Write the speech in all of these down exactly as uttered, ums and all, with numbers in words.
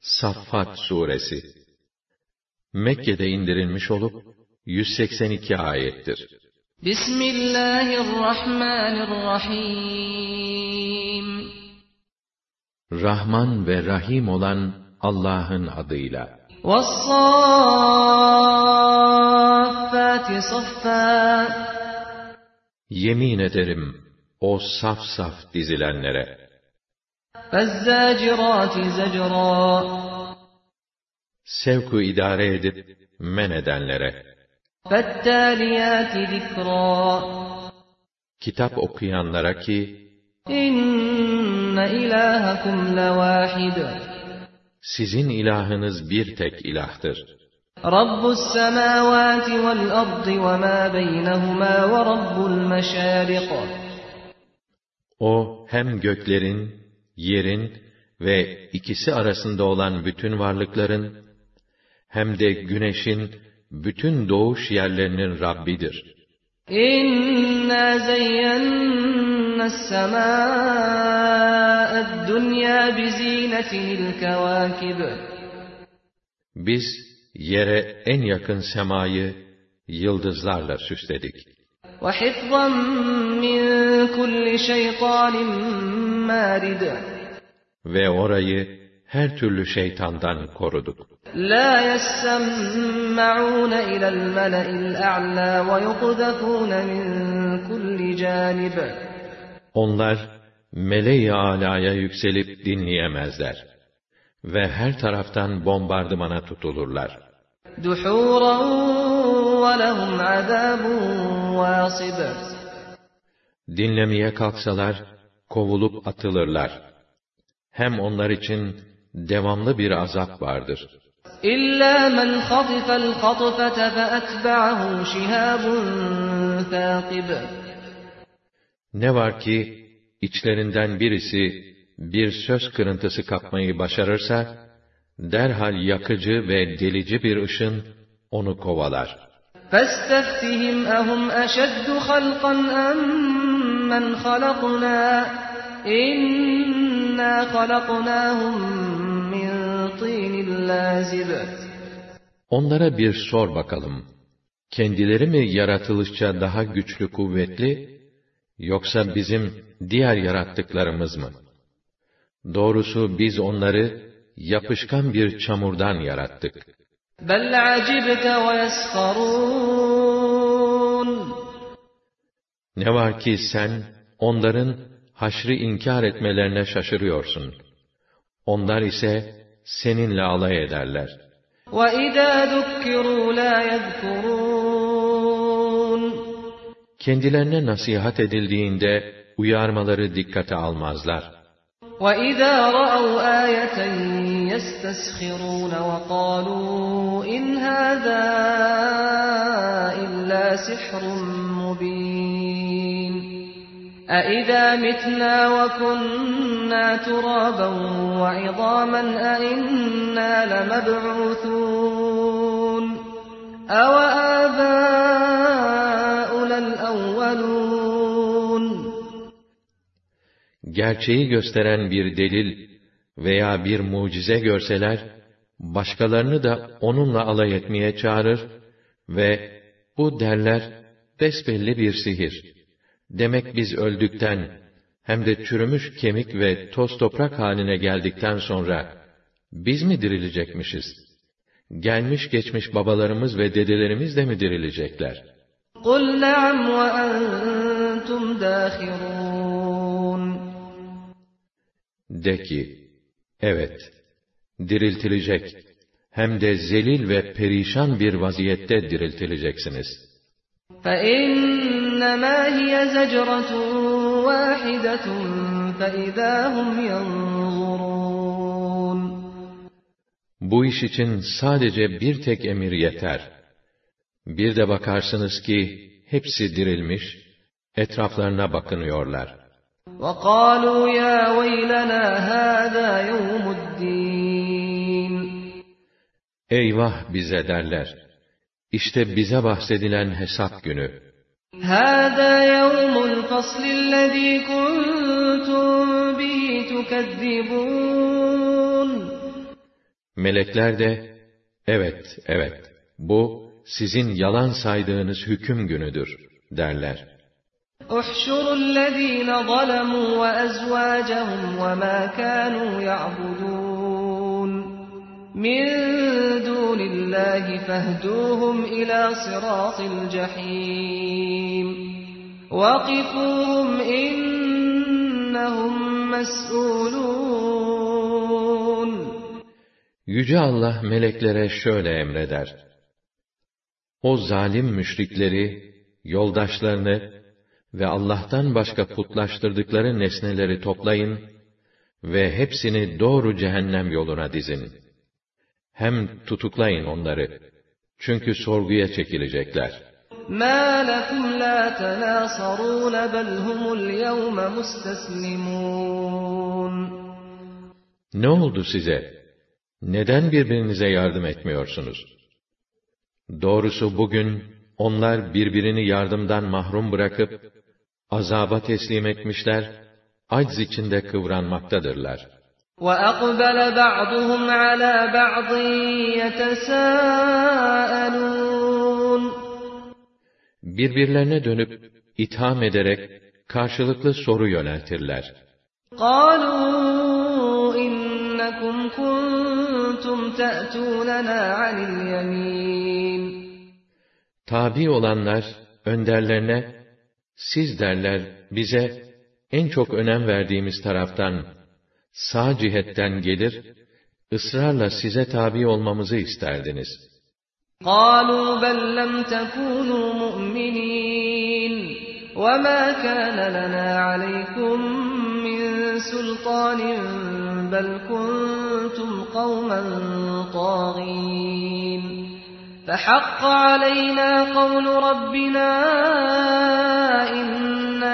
Saffat Suresi Mekke'de indirilmiş olup yüz seksen iki ayettir. Bismillahirrahmanirrahim. Rahman ve Rahim olan Allah'ın adıyla. Ve's-Saffâti saffâ. Yemin ederim o saf saf dizilenlere. Fezzâcirâti zecrâ. Sevku idare edip men edenlere. Fettâliyâti zikrâ. Kitap okuyanlara ki, İnne ilâhekum levâhid. Sizin ilahınız bir tek ilahtır. Rabbus semâvâti vel ardı ve mâ beynehumâ ve rabbul meşâriq. O hem göklerin, yerin ve ikisi arasında olan bütün varlıkların, hem de güneşin bütün doğuş yerlerinin Rabbidir. İnna zeyyennas semâ'ed dünya bizinetinil kevâkib. Biz yere en yakın semayı yıldızlarla süsledik. Ve hifzan min kulli şeytanin mârid. Ve orayı her türlü şeytandan koruduk. La yessemme'ûne ilel mele'il a'lâ ve yuqdefûne min kulli cânib. Onlar mele-i âlâya yükselip dinleyemezler ve her taraftan bombardımana tutulurlar. Duhûran ve lehum azâbun vâsib. Dinlemeye kalksalar kovulup atılırlar. Hem onlar için devamlı bir azap vardır. İllâ men hatifel hatfete fe etbe'ahu şihâbun thâkib. Ne var ki içlerinden birisi bir söz kırıntısı kapmayı başarırsa, derhal yakıcı ve delici bir ışın onu kovalar. فَاسْتَفْتِهِمْ أَهُمْ أَشَدُّ خَلْقًا أَمَّنْ خَلَقْنَا إِنَّا خَلَقْنَاهُمْ مِنْ طِينٍ لَازِبٍ. Onlara bir sor bakalım. Kendileri mi yaratılışça daha güçlü kuvvetli, yoksa bizim diğer yarattıklarımız mı? Doğrusu biz onları yapışkan bir çamurdan yarattık. بَلْ عَجِبْتَ وَيَسْخَرُونَ. Ne var ki sen onların haşrı inkar etmelerine şaşırıyorsun. Onlar ise seninle alay ederler. وَإِذَا ذُكِّرُوا لَا يَذْكُرُونَ. Kendilerine nasihat edildiğinde uyarmaları dikkate almazlar. وَإِذَا رَأَوْا آيَةً يَسْتَسْخِرُونَ وَقَالُوا إِنْ هَذَا إِلَّا سِحْرٌ مُبِينٌ أَإِذَا مِتْنَا وَكُنَّا تُرَابًا وَعِظَامًا أَإِنَّا لَمَبْعُوثُونَ أَوَآبَاؤُنَا الْأَوَّلُونَ. Gerçeği gösteren bir delil veya bir mucize görseler, başkalarını da onunla alay etmeye çağırır ve bu derler, besbelli bir sihir. Demek biz öldükten, hem de çürümüş kemik ve toz toprak haline geldikten sonra, biz mi dirilecekmişiz? Gelmiş geçmiş babalarımız ve dedelerimiz de mi dirilecekler? قُلْ نَعَمْ وَأَنْتُمْ دَاخِرُونَ. De ki, evet, diriltilecek, hem de zelil ve perişan bir vaziyette diriltileceksiniz. فَإِنَّمَا هِيَ زَجْرَةٌ وَاحِدَةٌ فَإِذَا هُمْ يَنْظُرُونَ. Bu iş için sadece bir tek emir yeter. Bir de bakarsınız ki, hepsi dirilmiş, etraflarına bakınıyorlar. وَقَالُوا يَا وَيْلَنَا هَذَا يَوْمُ الدِّينِ. Eyvah bize derler. İşte bize bahsedilen hesap günü. هَذَا يَوْمُ الْفَصْلِ الَّذ۪ي كُنْتُمْ بِهِ تُكَذِّبُونَ. Melekler de, evet, evet, bu sizin yalan saydığınız hüküm günüdür derler. احشروا الذين ظلموا وأزواجهم وما كانوا يعبدون من دون الله فاهدوهم إلى صراط الجحيم وقفوهم إنهم مسؤولون. Yüce Allah meleklere şöyle emreder: O zalim müşrikleri, yoldaşlarını ve Allah'tan başka putlaştırdıkları nesneleri toplayın ve hepsini doğru cehennem yoluna dizin. Hem tutuklayın onları. Çünkü sorguya çekilecekler. مَا لَكُمْ لَا تَنَاصَرُونَ بَلْ هُمُ الْيَوْمَ مُسْتَسْلِمُونَ. Ne oldu size? Neden birbirinize yardım etmiyorsunuz? Doğrusu bugün onlar birbirini yardımdan mahrum bırakıp azaba teslim etmişler, acz içinde kıvranmaktadırlar. وَأَقْبَلَ بَعْضُهُمْ عَلَى بَعْضٍ يَتَسَاءَلُونَ. Birbirlerine dönüp itham ederek karşılıklı soru yöneltirler. قَالُوا إِنَّكُمْ كُنْتُمْ تَأْتُونَنَا عَنِ الْيَمِينِ. Tabi olanlar önderlerine, siz derler bize en çok önem verdiğimiz taraftan, sağ cihetten gelir, ısrarla size tabi olmamızı isterdiniz. قَالُوا بَلْ لَمْ تَكُونُوا مُؤْمِنِينَ وَمَا كَانَ لَنَا عَلَيْكُمْ مِنْ سُلْطَانٍ بَلْ كُنْتُمْ قَوْمًا طَاغِينَ فَحَقَّ عَلَيْنَا قَوْلُ رَبِّنَا إِنَّا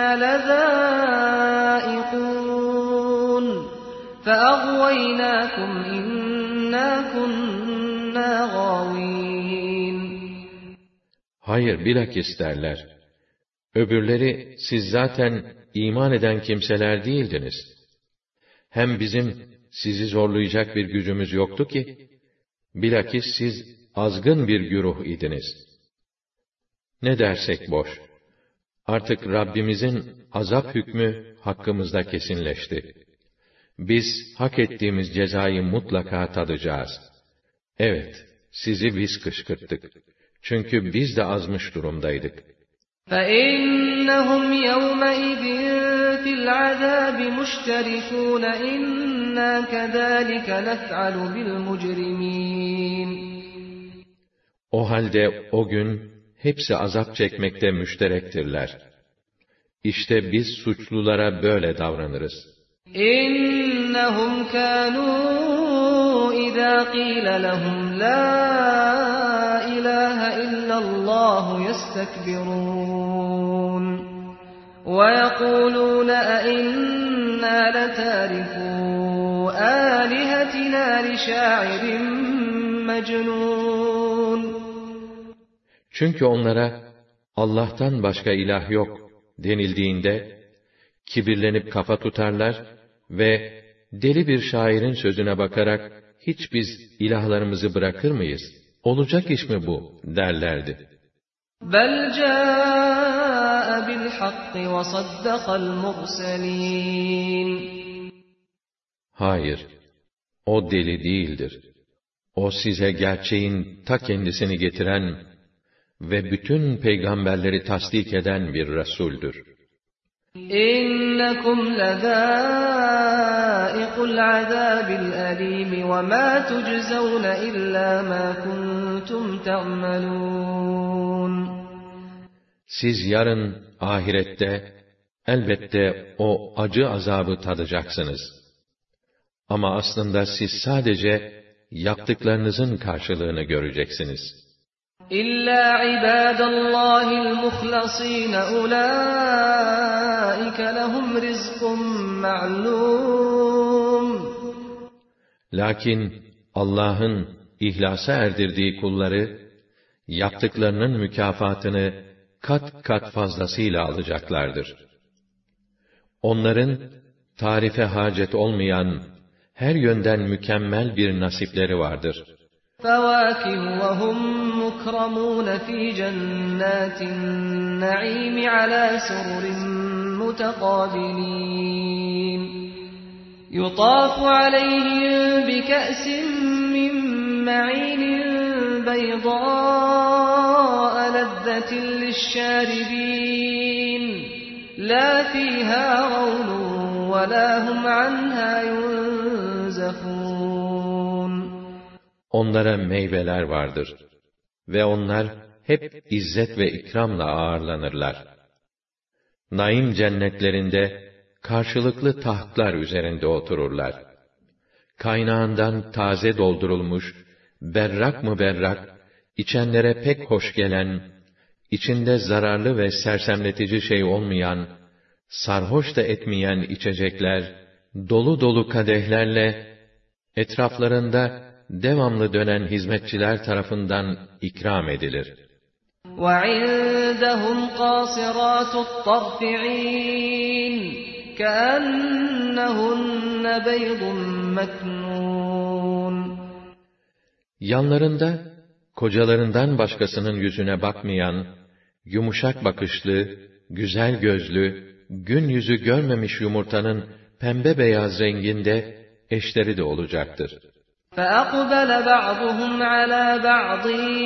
لَذَائِقُونَ فَأَغْوَيْنَاكُمْ إِنَّا كُنَّا غَاوِينَ. Hayır, bilakis derler. Öbürleri, siz zaten iman eden kimseler değildiniz. Hem bizim sizi zorlayacak bir gücümüz yoktu ki, bilakis siz azgın bir güruh idiniz. Ne dersek boş. Artık Rabbimizin azap hükmü hakkımızda kesinleşti. Biz hak ettiğimiz cezayı mutlaka tadacağız. Evet, sizi biz kışkırttık. Çünkü biz de azmış durumdaydık. فَإِنَّهُمْ يَوْمَئِذٍ فِي الْعَذَابِ مُشْتَرِكُونَ إِنَّا كَذَٰلِكَ نَفْعَلُ بِالْمُجْرِمِينَ. O halde o gün hepsi azap çekmekte müşterektirler. İşte biz suçlulara böyle davranırız. إِنَّهُمْ كَانُوا إِذَا قِيلَ لَهُمْ لَا إِلَٰهَ إِلَّا اللَّهُ يَسْتَكْبِرُونَ وَيَقُولُونَ أَإِنَّا لَتَارِكُو آلِهَتِنَا لِشَاعِرٍ مَجْنُونَ. Çünkü onlara Allah'tan başka ilah yok denildiğinde kibirlenip kafa tutarlar ve deli bir şairin sözüne bakarak hiç biz ilahlarımızı bırakır mıyız? Olacak iş mi bu derlerdi. بَلْ جَاءَ بِالْحَقِّ وَصَدَّقَ الْمُرْسَلِينَ. Hayır, o deli değildir. O size gerçeğin ta kendisini getiren ve bütün peygamberleri tasdik eden bir Resul'dür. إِنَّكُمْ لَذَائِقُو الْعَذَابِ الْأَلِيمِ وَمَا تُجْزَوْنَ إِلَّا مَا كُنْتُمْ تَعْمَلُونَ. Siz yarın ahirette elbette o acı azabı tadacaksınız. Ama aslında siz sadece yaptıklarınızın karşılığını göreceksiniz. إِلَّا عِبَادَ اللّٰهِ الْمُخْلَصِينَ أُولَٰئِكَ لَهُمْ رِزْقٌ مَعْلُومٌ. Lakin Allah'ın ihlasa erdirdiği kulları, yaptıklarının mükafatını kat kat fazlasıyla alacaklardır. Onların, tarife hacet olmayan, her yönden mükemmel bir nasipleri vardır. فَوَاكِهُ وَهُمْ مُكْرَمُونَ فِي جَنَّاتِ النَّعِيمِ عَلَى سُرُرٍ مُتَقَابِلِينَ يُطَافُ عَلَيْهِمْ بِكَأْسٍ مِّن مَّعِينٍ بَيْضَاءَ لَذَّةٍ لِّلشَّارِبِينَ لَا فِيهَا غَوْلٌ وَلَا هُمْ عَنْهَا يُنزَفُونَ Onlara meyveler vardır ve onlar hep izzet ve ikramla ağırlanırlar. Naim cennetlerinde karşılıklı tahtlar üzerinde otururlar. Kaynağından taze doldurulmuş, berrak mı berrak, içenlere pek hoş gelen, içinde zararlı ve sersemletici şey olmayan, sarhoş da etmeyen içecekler, dolu dolu kadehlerle, etraflarında devamlı dönen hizmetçiler tarafından ikram edilir. وَعِندَهُمْ قَاصِرَاتُ الطَّرْفِ عِينٌ كَأَنَّهُنَّ بَيْضٌ مَكْنُونٌ Yanlarında, kocalarından başkasının yüzüne bakmayan, yumuşak bakışlı, güzel gözlü, gün yüzü görmemiş yumurtanın pembe beyaz renginde eşleri de olacaktır. فَأَقْبَلَ بَعْضُهُمْ عَلَى بَعْضٍ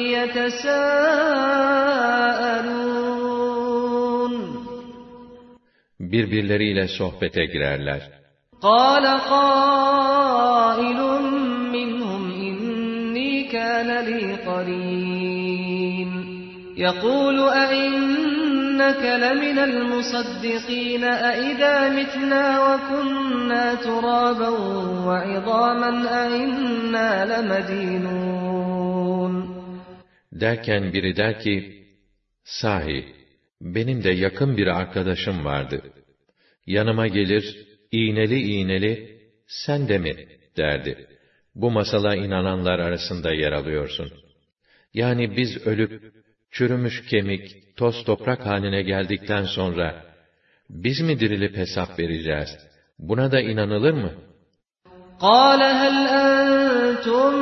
يَتَسَاءَلُونَ Birbirleriyle sohbete girerler. قَالَ قَائِلٌ مِّنْهُمْ إِنِّي كَانَ لِي قَرِينٌ يَقُولُ أَإِنَّكَ لَمِنَ الْمُصَدِّقِينَ أَإِذَا مِتْنَا وَكُنَّا تُرَابًا وَعِظَامًا أَإِنَّا لَمَدِينُونَ Derken biri der ki, sahi, benim de yakın bir arkadaşım vardı. Yanıma gelir, iğneli iğneli, sen de mi, derdi. Bu masala inananlar arasında yer alıyorsun. Yani biz ölüp, çürümüş kemik, toz toprak haline geldikten sonra, biz mi dirilip hesap vereceğiz? Buna da inanılır mı? قَالَ هَلْ أَنْتُمْ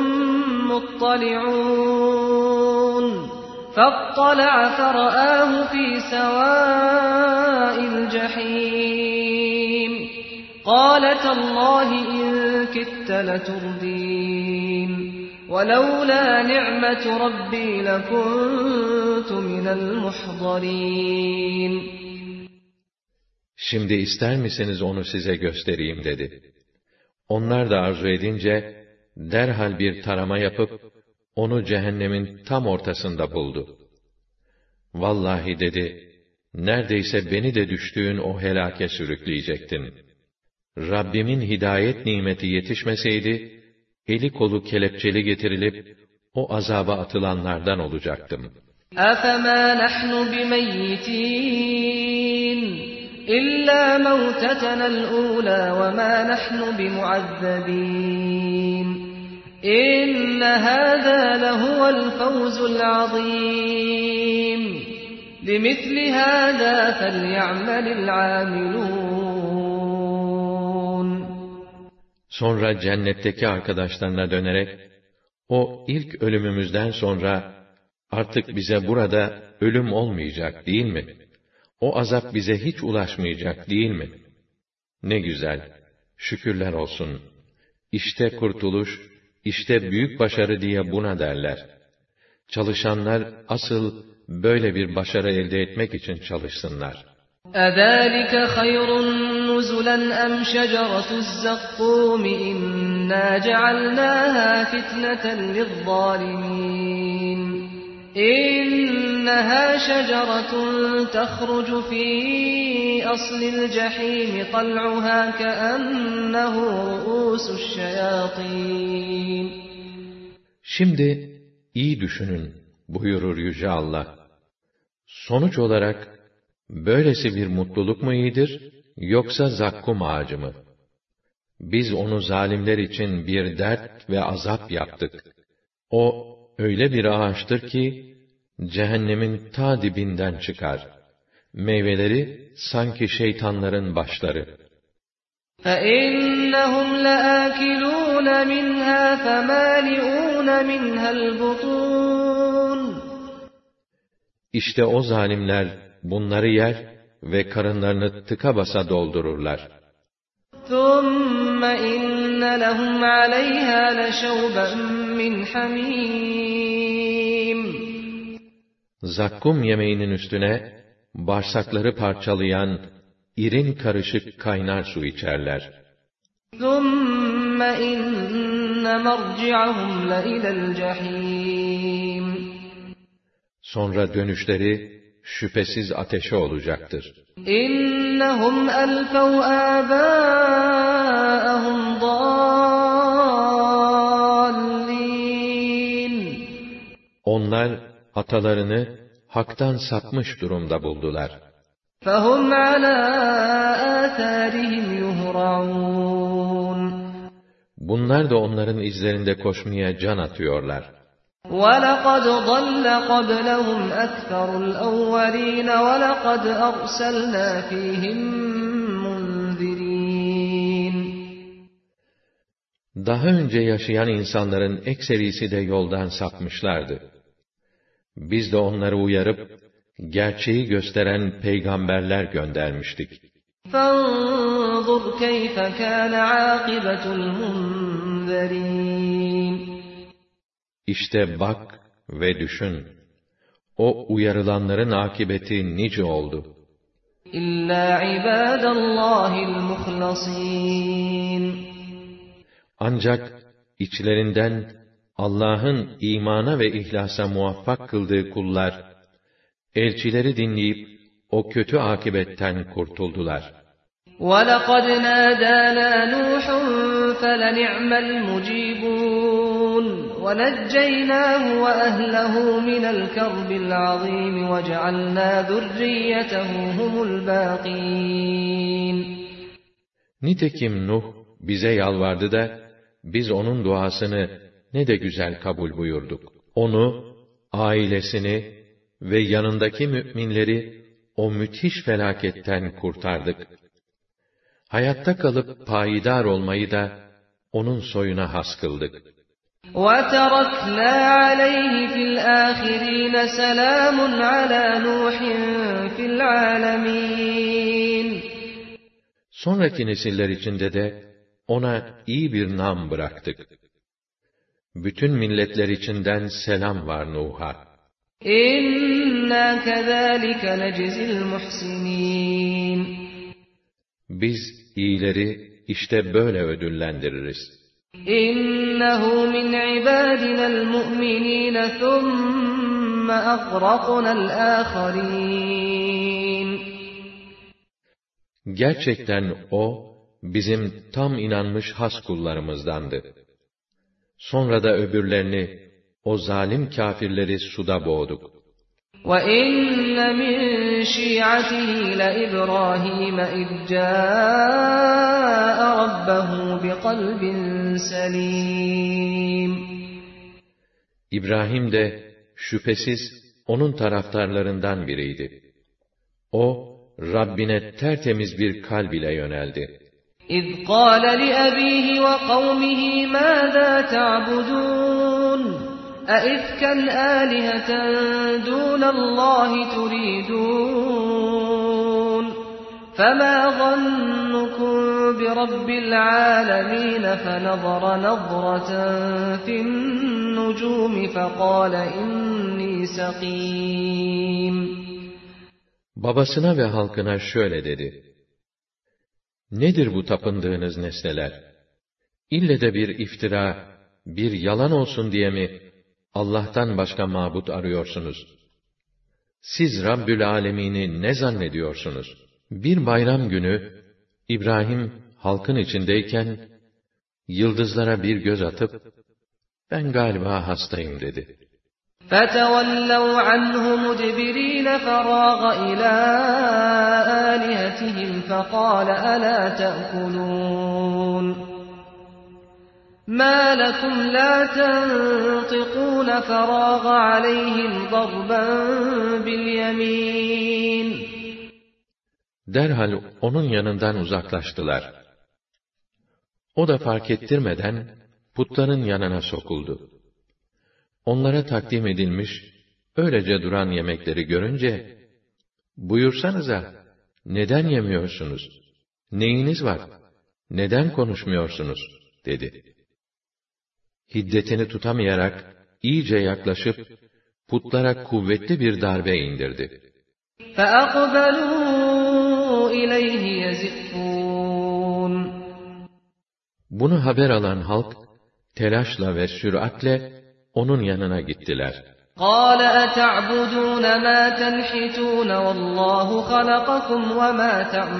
مُطَّلِعُونَ فَاطَّلَعَ فَرَآهُ فِي سَوَاءِ الْجَحِيمِ قَالَ تَاللَّهِ إِنْ كِدتَّ لَتُرْدِينِ وَلَوْلَا نِعْمَةُ رَبِّي لَكُنْتُ مِنَ الْمُحْضَرِينَ Şimdi ister misiniz onu size göstereyim dedi. Onlar da arzu edince, derhal bir tarama yapıp, onu cehennemin tam ortasında buldu. Vallahi dedi, neredeyse beni de düştüğün o helake sürükleyecektin. Rabbimin hidayet nimeti yetişmeseydi, eli kolu kelepçeli getirilip, o azaba atılanlardan olacaktım. أَفَمَا نَحْنُ بِمَيِّتِينَ إِلَّا مَوْتَتَنَا الْأُولَى وَمَا نَحْنُ بِمُعَذَّبِينَ إِنَّ هَذَا لَهُوَ الْفَوْزُ الْعَظِيمُ لِمِثْلِ هَذَا فَلْيَعْمَلِ الْعَامِلُونَ Sonra cennetteki arkadaşlarına dönerek, o ilk ölümümüzden sonra, artık bize burada ölüm olmayacak değil mi? O azap bize hiç ulaşmayacak değil mi? Ne güzel, şükürler olsun. İşte kurtuluş, işte büyük başarı diye buna derler. Çalışanlar asıl böyle bir başarı elde etmek için çalışsınlar. أَذَٰلِكَ خَيْرٌ نُزُلًا أَمْ شَجَرَةُ الزَّقُّومِ إِنَّا جَعَلْنَاهَا فِتْنَةً لِلظَّالِمِينَ إِنَّهَا شَجَرَةٌ تَخْرُجُ فِي أَصْلِ الْجَحِيمِ طَلْعُهَا كَأَنَّهُ رُءُوسُ الشَّيَاطِينِ Şimdi iyi düşünün buyurur Yüce Allah. Sonuç olarak böylesi bir mutluluk mu iyidir, yoksa zakkum ağacı mı? Biz onu zalimler için bir dert ve azap yaptık. O öyle bir ağaçtır ki, cehennemin ta dibinden çıkar. Meyveleri sanki şeytanların başları. فَإِنَّهُمْ لَآكِلُونَ مِنْهَا فَمَالِئُونَ مِنْهَا الْبُطُونَ İşte o zalimler bunları yer ve karınlarını tıka basa doldururlar. ثُمَّ إِنَّ لَهُمْ عَلَيْهَا لَشَوْبًا مِّنْ حَمِيمٍ Zakkum yemeğinin üstüne bağırsakları parçalayan irin karışık kaynar su içerler. ثُمَّ إِنَّ مَرْجِعَهُمْ لَإِلَى الْجَحِيمِ Sonra dönüşleri şüphesiz ateşe olacaktır. İnnehum elfev âbâehum dâllîn Onlar atalarını haktan sapmış durumda buldular. فَهُمْ عَلَى آثَارِهِمْ يُهْرَعُونَ Bunlar da onların izlerinde koşmaya can atıyorlar. وَلَقَدْ ضَلَّ قَبْلَهُمْ أَكْثَرُ الْأَوَّلِينَ وَلَقَدْ أَرْسَلْنَا فِيهِمْ مُنذِرِينَ Daha önce yaşayan insanların ekserisi de yoldan sapmışlardı. Biz de onları uyarıp, gerçeği gösteren peygamberler göndermiştik. فَانظُرْ كَيْفَ كَانَ عَاقِبَةُ الْمُنذَرِينَ İşte bak ve düşün, o uyarılanların akıbeti nice oldu. İllâ ibâdallâhil muhlasîn Ancak içlerinden Allah'ın imana ve ihlasa muvaffak kıldığı kullar, elçileri dinleyip o kötü akıbetten kurtuldular. وَلَقَدْ نَادَانَا نُوحٌ فَلَنِعْمَ الْمُجِيبُونَ وَنَجَّيْنَاهُ وَأَهْلَهُ مِنَ الْكَرْبِ الْعَظِيمِ وَجَعَلْنَا ذُرِّيَّتَهُ هُمُ الْبَاقِينَ Nitekim Nuh bize yalvardı da, biz onun duasını ne de güzel kabul buyurduk. Onu, ailesini ve yanındaki müminleri o müthiş felaketten kurtardık. Hayatta kalıp payidar olmayı da onun soyuna has kıldık. وَتَرَكْنَا عَلَيْهِ فِي الْآخِرِينَ سَلَامٌ عَلَى نُوحٍ فِي الْعَالَمِينَ Sonraki nesiller içinde de ona iyi bir nam bıraktık. Bütün milletler içinden selam var Nuh'a. İnna kezalike neczil muhsinin. Biz iyileri işte böyle ödüllendiririz. İnnehu min ibadina'l mu'minin thumma aghraqna'l âkharîn. Gerçekten o, bizim tam inanmış has kullarımızdandı. Sonra da öbürlerini, o zalim kâfirleri suda boğduk. وَإِنَّ مِنْ شِيعَتِهِ لَإِبْرَاهِيمَ إِذْ جَاءَ رَبَّهُ بِقَلْبٍ سَلِيمٍ İbrahim de şüphesiz onun taraftarlarından biriydi. O, Rabbine tertemiz bir kalb ile yöneldi. إِذْ قَالَ لِأَبِيهِ وَقَوْمِهِ مَاذَا تَعْبُدُونَ أَئِفْكًا آلِهَةً دُونَ اللّٰهِ تُرِيدُونَ فَمَا ظَنُّكُمْ بِرَبِّ الْعَالَمِينَ فَنَظَرَ نَظْرَةً فِي النُّجُومِ فَقَالَ إِنِّي سَقِيمٌ Babasına ve halkına şöyle dedi: Nedir bu tapındığınız nesneler? İlle de bir iftira, bir yalan olsun diye mi Allah'tan başka mabut arıyorsunuz? Siz Rabbül Âlemîn'i ne zannediyorsunuz? Bir bayram günü İbrahim halkın içindeyken yıldızlara bir göz atıp ben galiba hastayım dedi. فَتَوَلَّوْا عَنْهُ مُدْبِرِينَ فَرَاغَ إِلَى آلِهَتِهِمْ فَقَالَ أَلَا تَأْكُلُونَ مَا لَكُمْ لَا تَنطِقُونَ فَرَاغَ عَلَيْهِمْ ضَرْبًا بِالْيَمِينِ Derhal onun yanından uzaklaştılar. O da fark ettirmeden putların yanına sokuldu. Onlara takdim edilmiş, öylece duran yemekleri görünce, "Buyursanıza, neden yemiyorsunuz? Neyiniz var? Neden konuşmuyorsunuz?" dedi. Hiddetini tutamayarak, iyice yaklaşıp, putlara kuvvetli bir darbe indirdi. فَأَقْبَلُوا إِلَيْهِ يَزِفُّونَ Bunu haber alan halk, telaşla ve süratle onun yanına gittiler. قَالَ أَتَعْبُدُونَ مَا تَنْحِتُونَ وَاللّٰهُ خَلَقَكُمْ وَمَا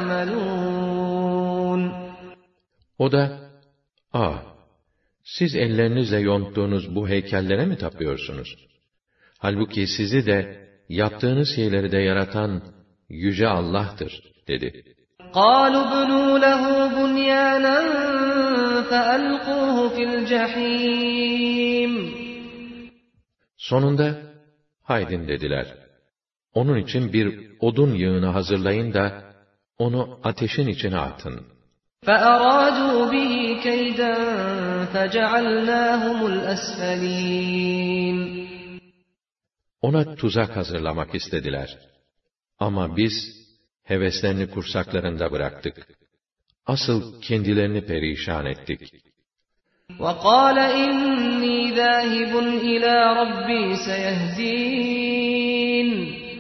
تَعْمَلُونَ O da, "Aa, siz ellerinizle yonttuğunuz bu heykellere mi tapıyorsunuz? Halbuki sizi de, yaptığınız şeyleri de yaratan Yüce Allah'tır," dedi. قَالُوا ابْنُوا لَهُ بُنْيَانًا فَأَلْقُوهُ فِي الْجَحِيمِ Sonunda, "Haydin," dediler. "Onun için bir odun yığını hazırlayın da, onu ateşin içine atın." فَأَرَادُوا بِهِ كَيْدًا فَجَعَلْنَاهُمُ الْأَسْفَلِينَ Ona tuzak hazırlamak istediler. Ama biz, heveslerini kursaklarında bıraktık. Asıl kendilerini perişan ettik. وَقَالَ إِنِّي ذَاهِبٌ إِلَى رَبِّي سَيَهْدِينِ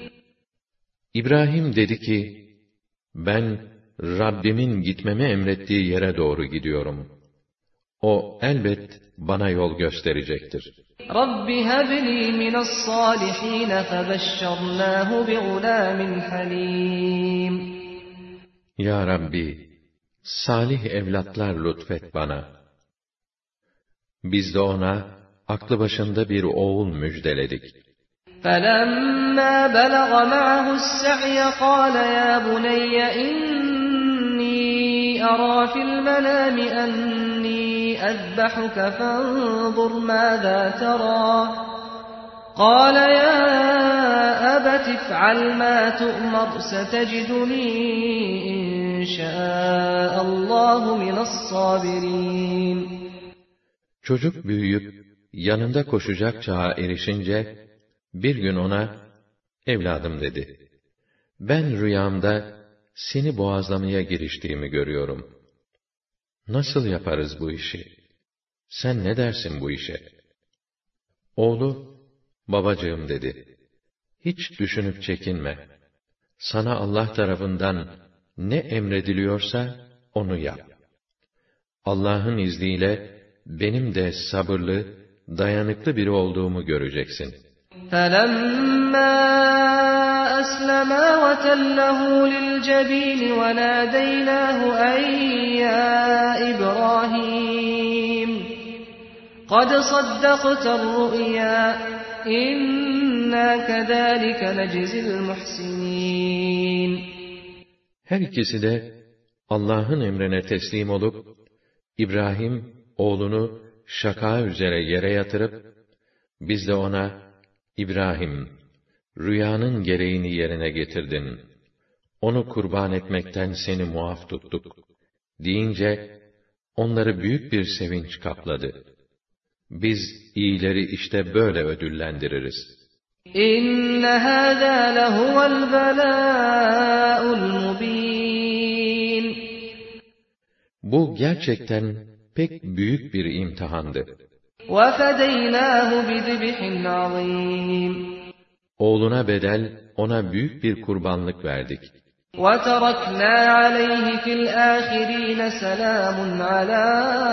İbrahim dedi ki, "Ben, Rabbimin gitmemi emrettiği yere doğru gidiyorum. O elbet bana yol gösterecektir." رَبِّ هَبْ لِي مِنَ الصَّالِحِينَ فَبَشَّرْنَاهُ بِغُلَامٍ حَلِيمٍ Ya Rabbi, salih evlatlar lütfet bana. Biz de ona, aklı başında bir oğul müjdeledik. فَلَمَّا بَلَغَ مَعَهُ السَّعْيَ قَالَ يَا بُنَيَّ إِنِّي أَرَى فِي الْمَنَامِ أَنِّي أَذْبَحُكَ فَانظُرْ مَاذَا تَرَى قَالَ يَا أَبَتِ افْعَلْ مَا تُؤْمَرُ سَتَجِدُنِي إِن شَاءَ اللّٰهُ مِنَ الصَّابِرِينَ Çocuk büyüyüp, yanında koşacak çağa erişince, bir gün ona, "Evladım," dedi, "ben rüyamda, seni boğazlamaya giriştiğimi görüyorum. Nasıl yaparız bu işi? Sen ne dersin bu işe?" Oğlu, "Babacığım," dedi, "hiç düşünüp çekinme. Sana Allah tarafından ne emrediliyorsa, onu yap. Allah'ın izniyle, benim de sabırlı, dayanıklı biri olduğumu göreceksin." فَلَمَّا أَسْلَمَا وَتَلَّهُ لِلْجَبِينِ وَنَادَيْنَاهُ أَن يَا إِبْرَاهِيمُ قَدْ صَدَّقْتَ الرُّؤْيَا إِنَّا كَذَٰلِكَ نَجْزِي الْمُحْسِنِينَ Her ikisi de, Allah'ın emrine teslim olup, İbrahim, oğlunu şaka üzere yere yatırıp, biz de ona, "İbrahim, rüyanın gereğini yerine getirdin. Onu kurban etmekten seni muaf tuttuk," deyince, onları büyük bir sevinç kapladı. Biz iyileri işte böyle ödüllendiririz. İnne hâzâ lehuvel belâ'ul mubîn Bu gerçekten pek büyük bir imtihandı. وَفَدَيْنَاهُ بِذِبْحٍ عَظِيمٍ Oğluna bedel, ona büyük bir kurbanlık verdik. وَتَرَكْنَا عَلَيْهِ فِي الْآخِرِينَ سَلَامٌ عَلَى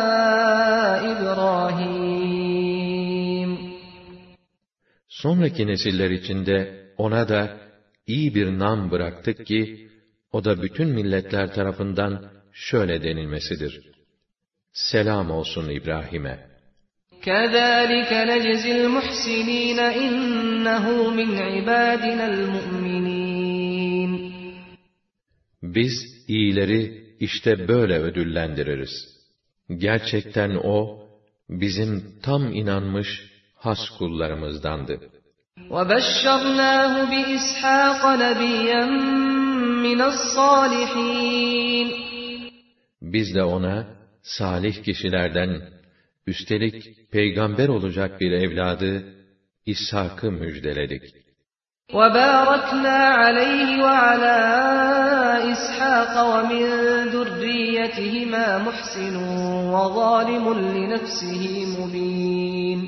إِبْرَاهِيمَ Sonraki nesiller içinde ona da iyi bir nam bıraktık ki, o da bütün milletler tarafından şöyle denilmesidir: Selam olsun İbrahim'e. كَذَٰلِكَ نَجْزِي الْمُحْسِنِينَ إِنَّهُ مِنْ عِبَادِنَا الْمُؤْمِنِينَ Biz iyileri işte böyle ödüllendiririz. Gerçekten o, bizim tam inanmış has kullarımızdandı. وَبَشَّرْنَاهُ بِإِسْحَاقَ نَبِيًّا مِنَ الصَّالِحِينَ Biz de ona, salih kişilerden, üstelik peygamber olacak bir evladı, İshak'ı müjdeledik. وَبَارَكْنَا عَلَيْهِ وَعَلَى إِسْحَاقَ وَمِنْ ذُرِّيَّتِهِمَا مُحْسِنٌ وَظَالِمٌ لِنَفْسِهِ مُبِينٌ.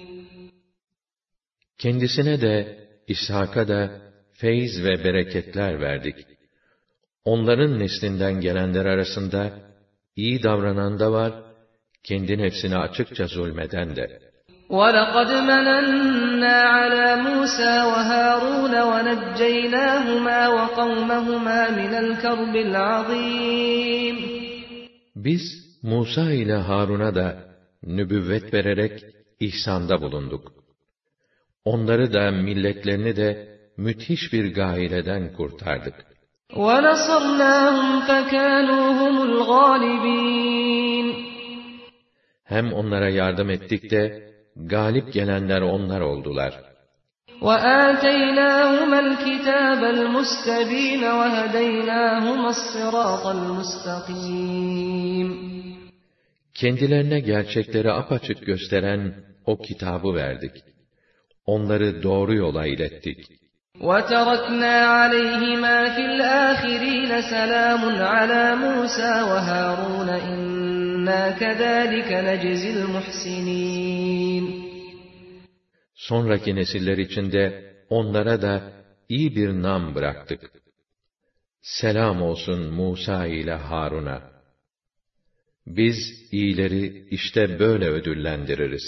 Kendisine de, İshak'a da feyz ve bereketler verdik. Onların neslinden gelenler arasında, iyi davranan da var, kendi nefsine açıkça zulmeden de. وَلَقَدْ مَنَنَّا عَلَى مُوسَى وَهَارُونَ وَنَجَّيْنَاهُمَا وَقَوْمَهُمَا مِنَ الْكَرْبِ الْعَظِيمِ. Biz, Musa ile Harun'a da nübüvvet vererek ihsanda bulunduk. Onları da, milletlerini de müthiş bir gâileden kurtardık. وَنَصَرْنَاهُمْ فَكَانُوا هُمُ الْغَالِبِينَ. Hem onlara yardım ettik de, galip gelenler onlar oldular. وَآتَيْنَاهُمَا الْكِتَابَ الْمُسْتَبِينَ وَهَدَيْنَاهُمَا الصِّرَاطَ الْمُسْتَقِيمَ. Kendilerine gerçekleri apaçık gösteren o kitabı verdik. Onları doğru yola ilettik. وَتَرَكْنَا عَلَيْهِمَا فِي الْآخِرِينَ سَلَامٌ عَلَى مُوسَى وَهَارُونَ إِنَّا كَذَٰلِكَ نَجْزِي الْمُحْسِنِينَ. Sonraki nesiller içinde onlara da iyi bir nam bıraktık. Selam olsun Musa ile Harun'a. Biz iyileri işte böyle ödüllendiririz.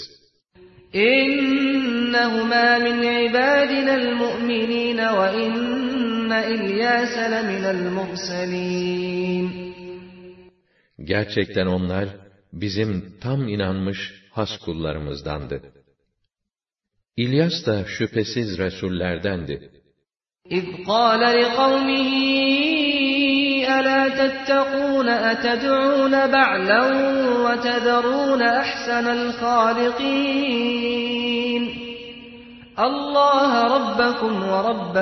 İnnehumâ min ibâdinel mu'minîne ve inne İlyâse leminel murselîn. Gerçekten onlar bizim tam inanmış has kullarımızdandı. İlyas da şüphesiz resullerdendi. İz qâle liqavmihi elâ tettegûne eted'ûne ba'len ve tederûne ahsenel khâlikîn. Allâhe rabbekum ve rabbe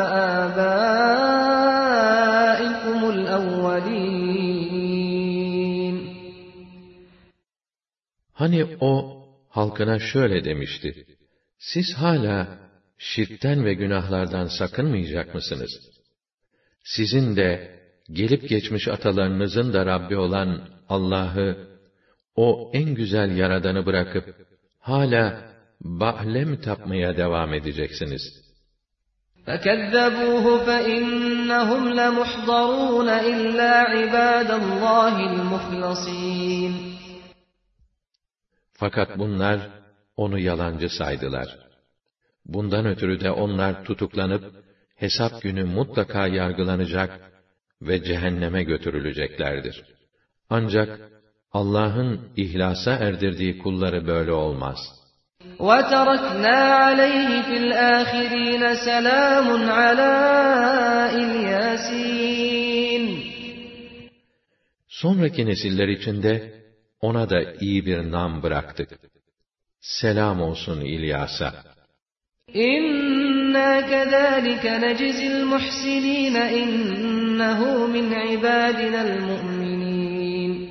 âbâikumul evvelîn. Hani o halkına şöyle demişti: Siz hala şirkten ve günahlardan sakınmayacak mısınız? Sizin de gelip geçmiş atalarınızın da Rabbi olan Allah'ı, o en güzel yaradanı bırakıp hala Ba'le mi tapmaya devam edeceksiniz? فَكَذَّبُوهُ فَإِنَّهُمْ لَمُحْضَرُونَ إِلَّا عِبَادَ اللّٰهِ الْمُخْلَصِينَ. Fakat bunlar onu yalancı saydılar. Bundan ötürü de onlar tutuklanıp, hesap günü mutlaka yargılanacak ve cehenneme götürüleceklerdir. Ancak Allah'ın ihlasa erdirdiği kulları böyle olmaz. وَتَرَكْنَا عَلَيْهِ فِي الْآخِرِينَ سَلَامٌ عَلَى İlyâsîn. Sonraki nesiller içinde ona da iyi bir nam bıraktık. Selam olsun İlyas'a. İnna kezâlike necizil muhsinîn innehu min ibâdinel mu'minîn.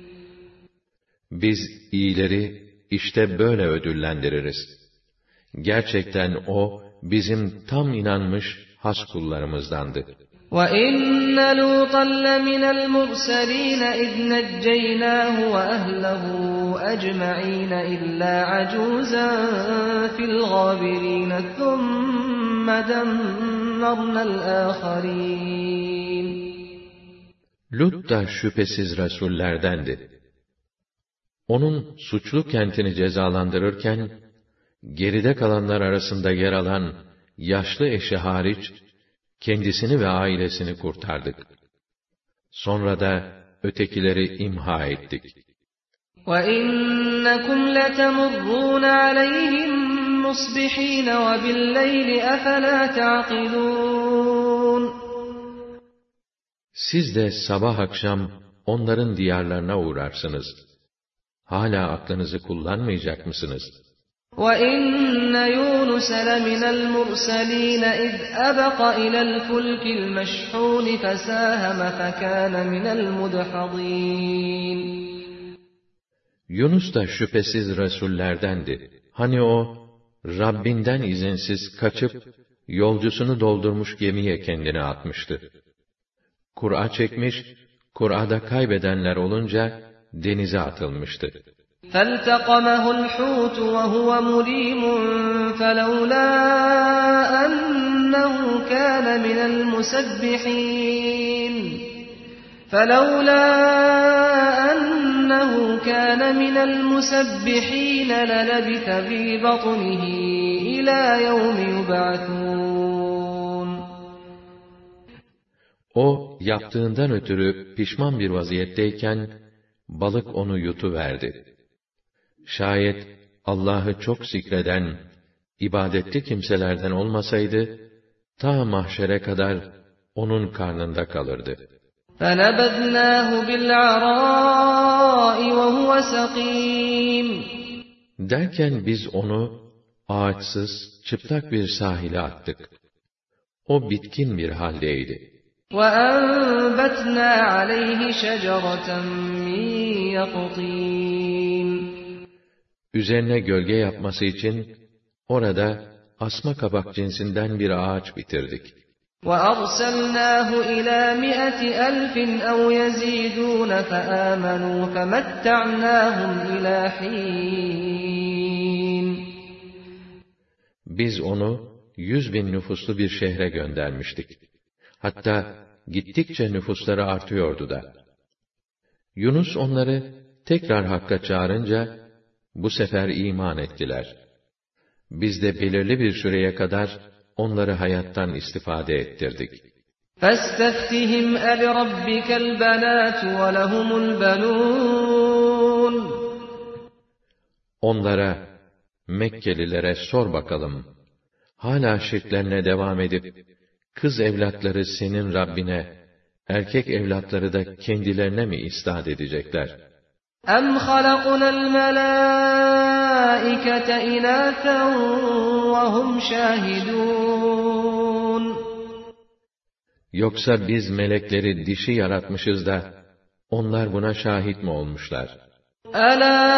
Biz iyileri işte böyle ödüllendiririz. Gerçekten o bizim tam inanmış has kullarımızdandı. وَإِنَّ لُوطًا لَّمِنَ الْمُرْسَلِينَ إِذْ نَجَّيْنَاهُ وَأَهْلَهُ أَجْمَعِينَ إِلَّا عَجُوزًا فِي الْغَابِرِينَ ثُمَّ دَمَّرْنَا الْآخَرِينَ. Lut da şüphesiz resullerdendi. Onun suçlu kentini cezalandırırken, geride kalanlar arasında yer alan yaşlı eşi hariç, kendisini ve ailesini kurtardık. Sonra da ötekileri imha ettik. وَإِنَّكُمْ لَتَمُرُّونَ عَلَيْهِمْ مُصْبِحِينَ وَبِاللَّيْلِ أَفَلَا تَعْقِلُونَ. Siz de sabah akşam onların diyarlarına uğrarsınız. Hala aklınızı kullanmayacak mısınız? وَإِنَّ يُونُسَ لَمِنَ الْمُرْسَلِينَ إِذْ أَبَقَ إِلَى الْفُلْكِ الْمَشْحُونِ فَسَاهَمَ فَكَانَ مِنَ الْمُدْحَضِينَ. Yunus da şüphesiz Resullerdendi. Hani o, Rabbinden izinsiz kaçıp, yolcusunu doldurmuş gemiye kendini atmıştı. Kur'a çekmiş, Kur'a'da kaybedenler olunca, denize atılmıştı. فَالْتَقَمَهُ الْحُوتُ وَهُوَ مُلِيمٌ فَلَوْلَا أَنَّهُ كَانَ مِنَ الْمُسَبِّحِينَ فَلَوْلَا أَنَّهُ كَانَ مِنَ الْمُسَبِّحِينَ لَلَبِثَ فِي بَطْنِهِ إِلَى يَوْمِ يُبْعَثُونَ O, yaptığından ötürü pişman bir vaziyetteyken, balık onu yutuverdi. Şayet Allah'ı çok zikreden, ibadetli kimselerden olmasaydı, ta mahşere kadar onun karnında kalırdı. فَنَبَذْنَاهُ بِالْعَرَاءِ وَهُوَ سَقِيمٌ Derken biz onu, ağaçsız, çıplak bir sahile attık. O bitkin bir haldeydi. وَأَنبَتْنَا عَلَيْهِ شَجَرَةً مِّن يَقْطِينٍ Üzerine gölge yapması için, orada asma kabak cinsinden bir ağaç bitirdik. وَأَرْسَلْنَاهُ إِلَى مِائَةِ أَلْفٍ أَوْ يَزِيدُونَ فَآمَنُوا فَمَتَّعْنَاهُمْ إِلَى حِينٍ Biz onu, yüz bin nüfuslu bir şehre göndermiştik. Hatta, gittikçe nüfusları artıyordu da. Yunus onları, tekrar Hakk'a çağırınca, bu sefer iman ettiler. Biz de belirli bir süreye kadar, onları hayattan istifade ettirdik. فَاسْتَفْتِهِمْ أَلِرَبِّكَ الْبَنَاتُ وَلَهُمُ الْبَنُونَ Onlara, Mekkelilere sor bakalım, hala şirklerine devam edip, kız evlatları senin Rabbine, erkek evlatları da kendilerine mi istat edecekler? اَمْ خَلَقْنَا الْمَلَائِكَةَ اِنَاثًا وَهُمْ شَاهِدُونَ Yoksa biz melekleri dişi yaratmışız da, onlar buna şahit mi olmuşlar? أَلَا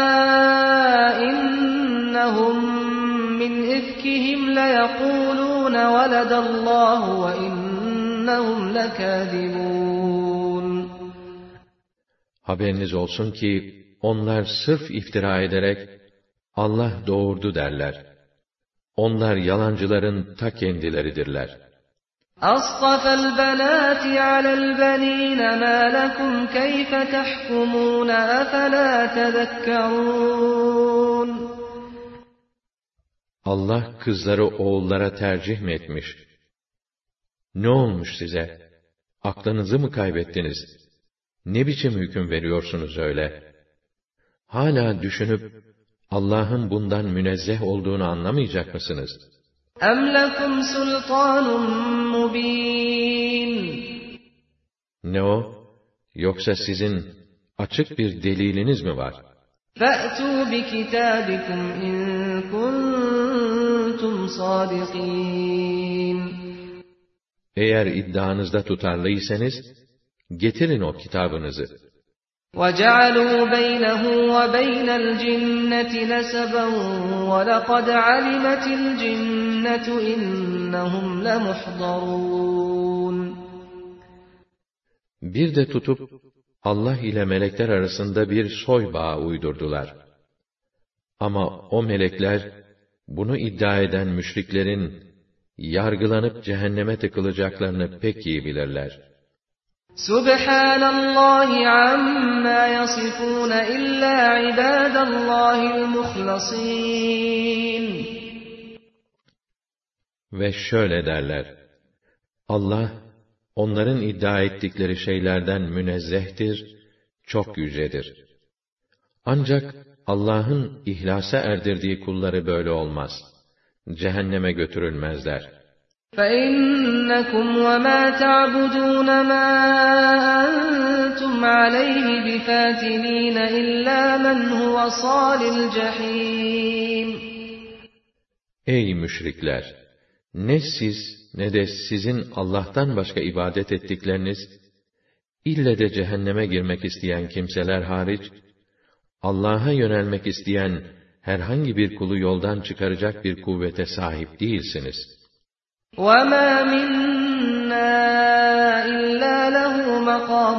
إِنَّهُمْ مِنْ إِفْكِهِمْ لَيَقُولُونَ وَلَدَ اللّٰهُ وَإِنَّهُمْ لَكَاذِبُونَ Haberiniz olsun ki, onlar sırf iftira ederek, Allah doğurdu derler. Onlar yalancıların ta kendileridirler. أَصْطَفَى الْبَنَاتِ عَلَى الْبَنِينَ مَا لَكُمْ كَيْفَ تَحْكُمُونَ أَفَلَا تَذَكَّرُونَ Allah kızları oğullara tercih mi etmiş? Ne olmuş size? Aklınızı mı kaybettiniz? Ne biçim hüküm veriyorsunuz öyle? Hala düşünüp, Allah'ın bundan münezzeh olduğunu anlamayacak mısınız? اَمْ لَكُمْ سُلْطَانٌ مُّب۪ينٌ Ne o? Yoksa sizin açık bir deliliniz mi var? فَأْتُوا بِكِتَابِكُمْ اِنْ كُنْتُمْ صَادِقِينَ Eğer iddianızda tutarlıysanız, getirin o kitabınızı. وَجَعَلُوا بَيْنَهُ وَبَيْنَ الْجِنَّةِ نَسَبًا وَلَقَدْ عَلِمَتِ الْجِنَّةُ إِنَّهُمْ لَمُحْضَرُونَ Bir de tutup, Allah ile melekler arasında bir soy bağı uydurdular. Ama o melekler, bunu iddia eden müşriklerin, yargılanıp cehenneme tıkılacaklarını pek iyi bilirler. Subhanallahi amma yasifun illa ibadallahil muhlasin. Ve şöyle derler: Allah, onların iddia ettikleri şeylerden münezzehtir, çok yücedir. Ancak Allah'ın ihlasa erdirdiği kulları böyle olmaz. Cehenneme götürülmezler. فَإِنَّكُمْ وَمَا تَعْبُدُونَ مَا أَنْتُمْ عَلَيْهِ بِفَاتِنِينَ إِلَّا مَنْ هُوَ صَالِ الْجَحِيمِ. Ey müşrikler! Ne siz, ne de sizin Allah'tan başka ibadet ettikleriniz, ille de cehenneme girmek isteyen kimseler hariç, Allah'a yönelmek isteyen herhangi bir kulu yoldan çıkaracak bir kuvvete sahip değilsiniz. وَمَا مِنَّا إِلَّا لَهُ مَقَامٌ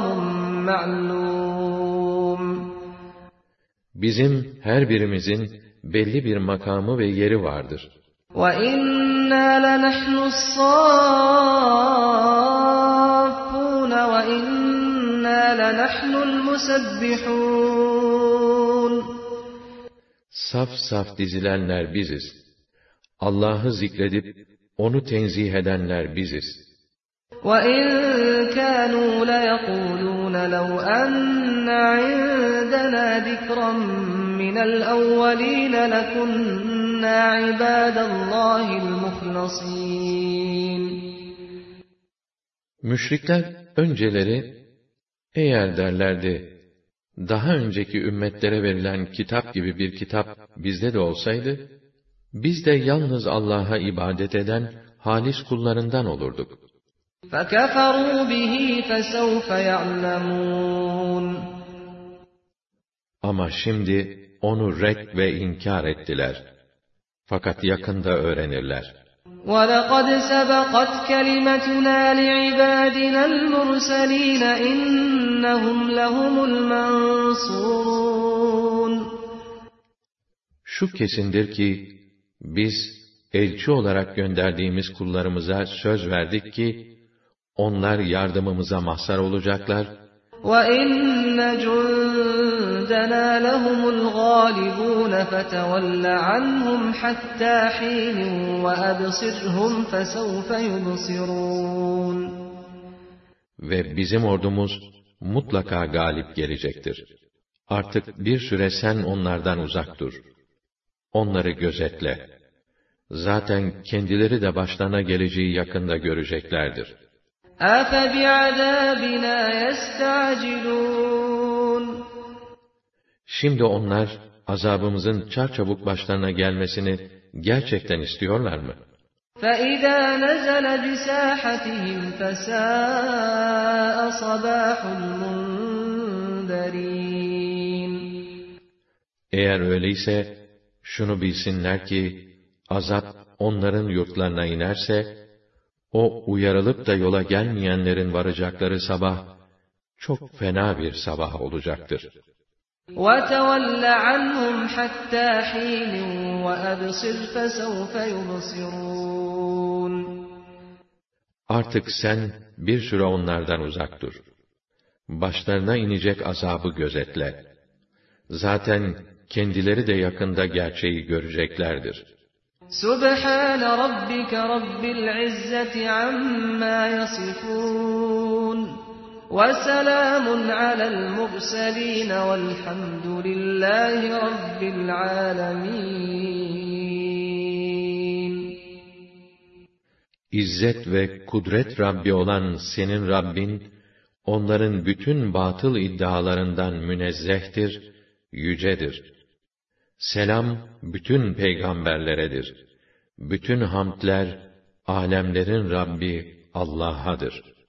مَعْلُومٌ Bizim her birimizin belli bir makamı ve yeri vardır. وَإِنَّا لَنَحْنُ الصَّافُّونَ وَإِنَّا لَنَحْنُ الْمُسَبِّحُونَ Saf saf dizilenler biziz. Allah'ı zikredip onu tenzih edenler biziz. وَإِنْ كَانُوا لَيَقُولُونَ لَوْ أَنَّ عِندَنَا ذِكْرًا مِنَ الْأَوَّلِينَ لَكُنَّا عِبَادَ اللّٰهِ الْمُخْلَصِينَ Müşrikler önceleri, eğer derlerdi, daha önceki ümmetlere verilen kitap gibi bir kitap bizde de olsaydı, biz de yalnız Allah'a ibadet eden halis kullarından olurduk. فَكَفَرُوا بِهِ فَسَوْفَ يَعْلَمُونَ Ama şimdi onu red ve inkar ettiler. Fakat yakında öğrenirler. وَلَقَدْ سَبَقَتْ كَلِمَتُنَا لِعِبَادِنَا الْمُرْسَلِينَ إِنَّهُمْ لَهُمُ الْمَنْصُورُونَ Şu kesindir ki, biz elçi olarak gönderdiğimiz kullarımıza söz verdik ki, onlar yardımımıza mazhar olacaklar. وَإِنَّ جُندَنَا لَهُمُ الْغَالِبُونَ فَتَوَلَّ عَنْهُمْ حَتَّى حِينٍ وَأَبْصِرْهُمْ فَسَوْفَ يُبْصِرُونَ Ve bizim ordumuz mutlaka galip gelecektir. Artık bir süre sen onlardan uzak dur. Onları gözetle. Zaten kendileri de başlarına geleceği yakında göreceklerdir. أَفَبِعَذَابِنَا يَسْتَعْجِلُونَ Şimdi onlar, azabımızın çarçabuk başlarına gelmesini gerçekten istiyorlar mı? فَإِذَا نَزَلَ بِسَاحَتِهِمْ فَسَاءَ صَبَاحُ الْمُنذَرِينَ Eğer öyleyse, şunu bilsinler ki, azap onların yurtlarına inerse, o uyarılıp da yola gelmeyenlerin varacakları sabah, çok fena bir sabah olacaktır. وَتَوَلَّ عَنْهُمْ حَتَّى حِينٍ وَأَبْصِرْ فَسَوْفَ يُبْصِرُونَ Artık sen bir süre onlardan uzak dur. Başlarına inecek azabı gözetle. Zaten kendileri de yakında gerçeği göreceklerdir. سُبْحَانَ رَبِّكَ رَبِّ الْعِزَّةِ عَمَّا يَصِفُونَ وَسَلَامٌ عَلَى الْمُرْسَلِينَ وَالْحَمْدُ لِلَّهِ رَبِّ الْعَالَمِينَ İzzet ve kudret Rabbi olan senin Rabbin, onların bütün batıl iddialarından münezzehtir, yücedir. Selam bütün peygamberleredir. Bütün hamdler alemlerin Rabbi Allah'adır.